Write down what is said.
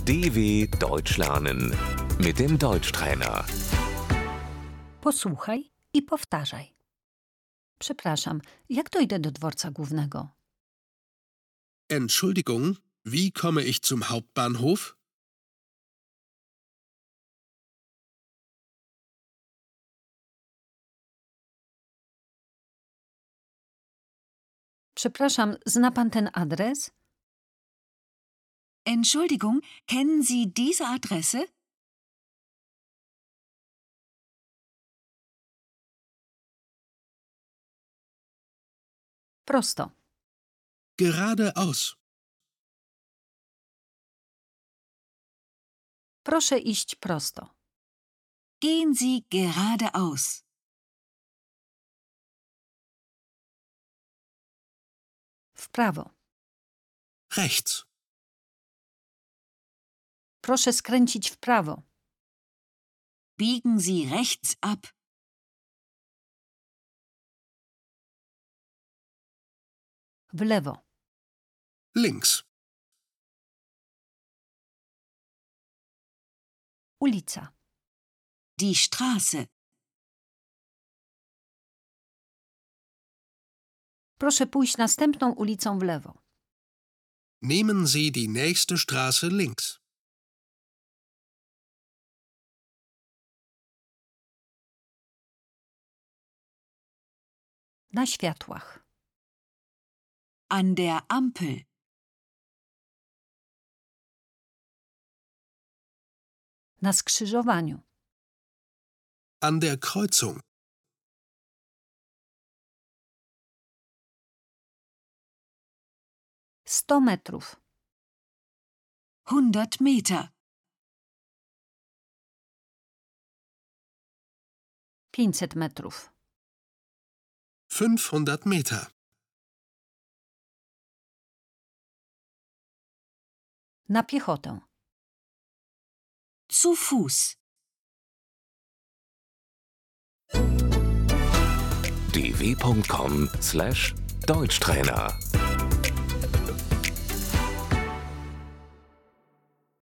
DW Deutsch lernen mit dem Deutschtrainer. Posłuchaj i powtarzaj. Przepraszam, jak dojdę do dworca głównego? Entschuldigung, wie komme ich zum Hauptbahnhof? Przepraszam, zna pan ten adres? Entschuldigung, kennen Sie diese Adresse? Prosto. Geradeaus. Proszę iść prosto. Gehen Sie geradeaus. W prawo. Rechts. Proszę skręcić w prawo. Biegen Sie rechts ab. W lewo. Links. Ulica. Die Straße. Proszę pójść następną ulicą w lewo. Nehmen Sie die nächste Straße links. Na światłach. An der Ampel. Na skrzyżowaniu. An der Kreuzung. Sto metrów. 100 Meter. 500 metrów. 500 Meter. Na piechotę. Zu Fuß. dw.com/Deutschtrainer